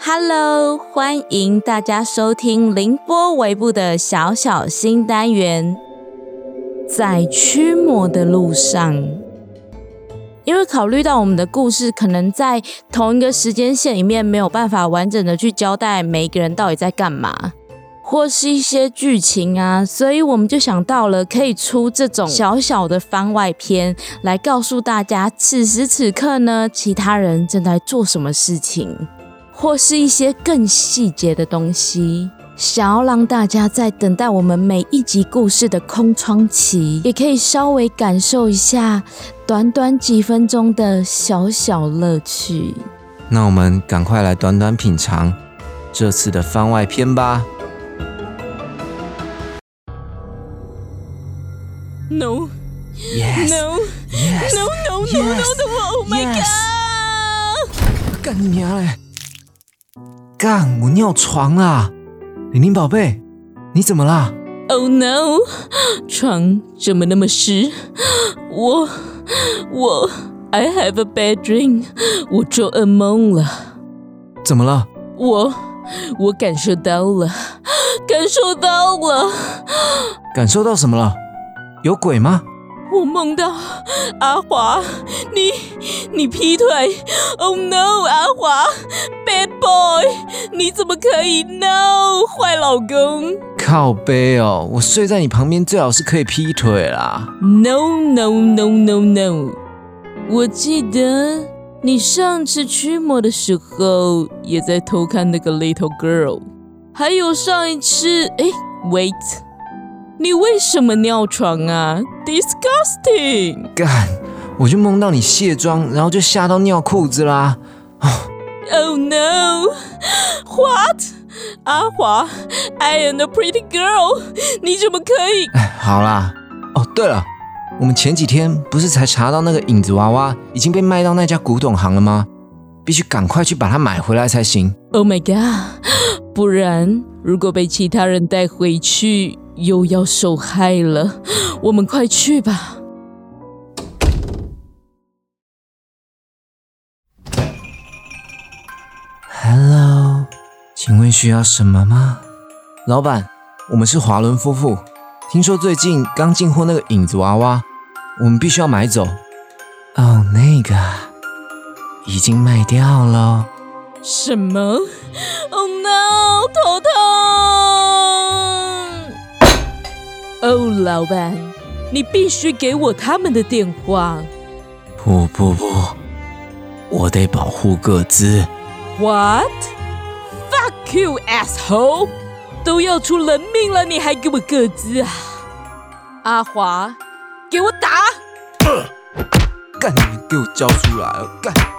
Hello， 欢迎大家收听凌波微步的小小新单元，在驱魔的路上。因为考虑到我们的故事可能在同一个时间线里面没有办法完整的去交代每一个人到底在干嘛，或是一些剧情啊，所以我们就想到了可以出这种小小的番外篇，来告诉大家此时此刻呢，其他人正在做什么事情，或是一些更细节的东西，想要让大家在等待我们每一集故事的空窗期，也可以稍微感受一下短短几分钟的小小乐趣。 那我们赶快来短短品尝这次的番外篇吧。 No, Yes, no, yes, no, no, no, yes, no, no, oh my yes. god! 干你娘嘞！干，我尿床啦！玲玲宝贝，你怎么啦？ Oh no， 床怎么那么湿？我 I have a bad dream， 我做噩梦了。 怎么了？ 我感受到了。 感受到什么了？有鬼吗？ 我梦到阿华，你劈腿 ！Oh no， 阿华 ，bad boy， 你怎么可以 ？No， 坏老公！ 靠背哦，我睡在你旁边，最好是可以劈腿啦。 No no no no no， 我记得你上次驱魔的时候也在偷看那个 little girl， 还有上一次，wait。你为什么尿床啊 ？Disgusting！ 干，我就梦到你卸妆，然后就吓到尿裤子啦。 Oh no! What? 阿华 ，I am a pretty girl， 你怎么可以？ 好啦，哦对了，我们前几天不是才查到那个影子娃娃已经被卖到那家古董行了吗？必须赶快去把它买回来才行。 Oh my god！ 不然如果被其他人带回去，又要受害了。我们快去吧。 Hello， 请问需要什么吗？老板，我们是华伦夫妇，听说最近刚进货那个影子娃娃，我们必须要买走。哦，那个已经卖掉了。 什么 ？Oh no， 头痛！哦，老板，你必须给我他们的电话。 不，我得保护个资。 What? Fuck you, asshole! 都要出人命了，你还给我个资啊？阿华，给我打！ 干，给我交出来！干！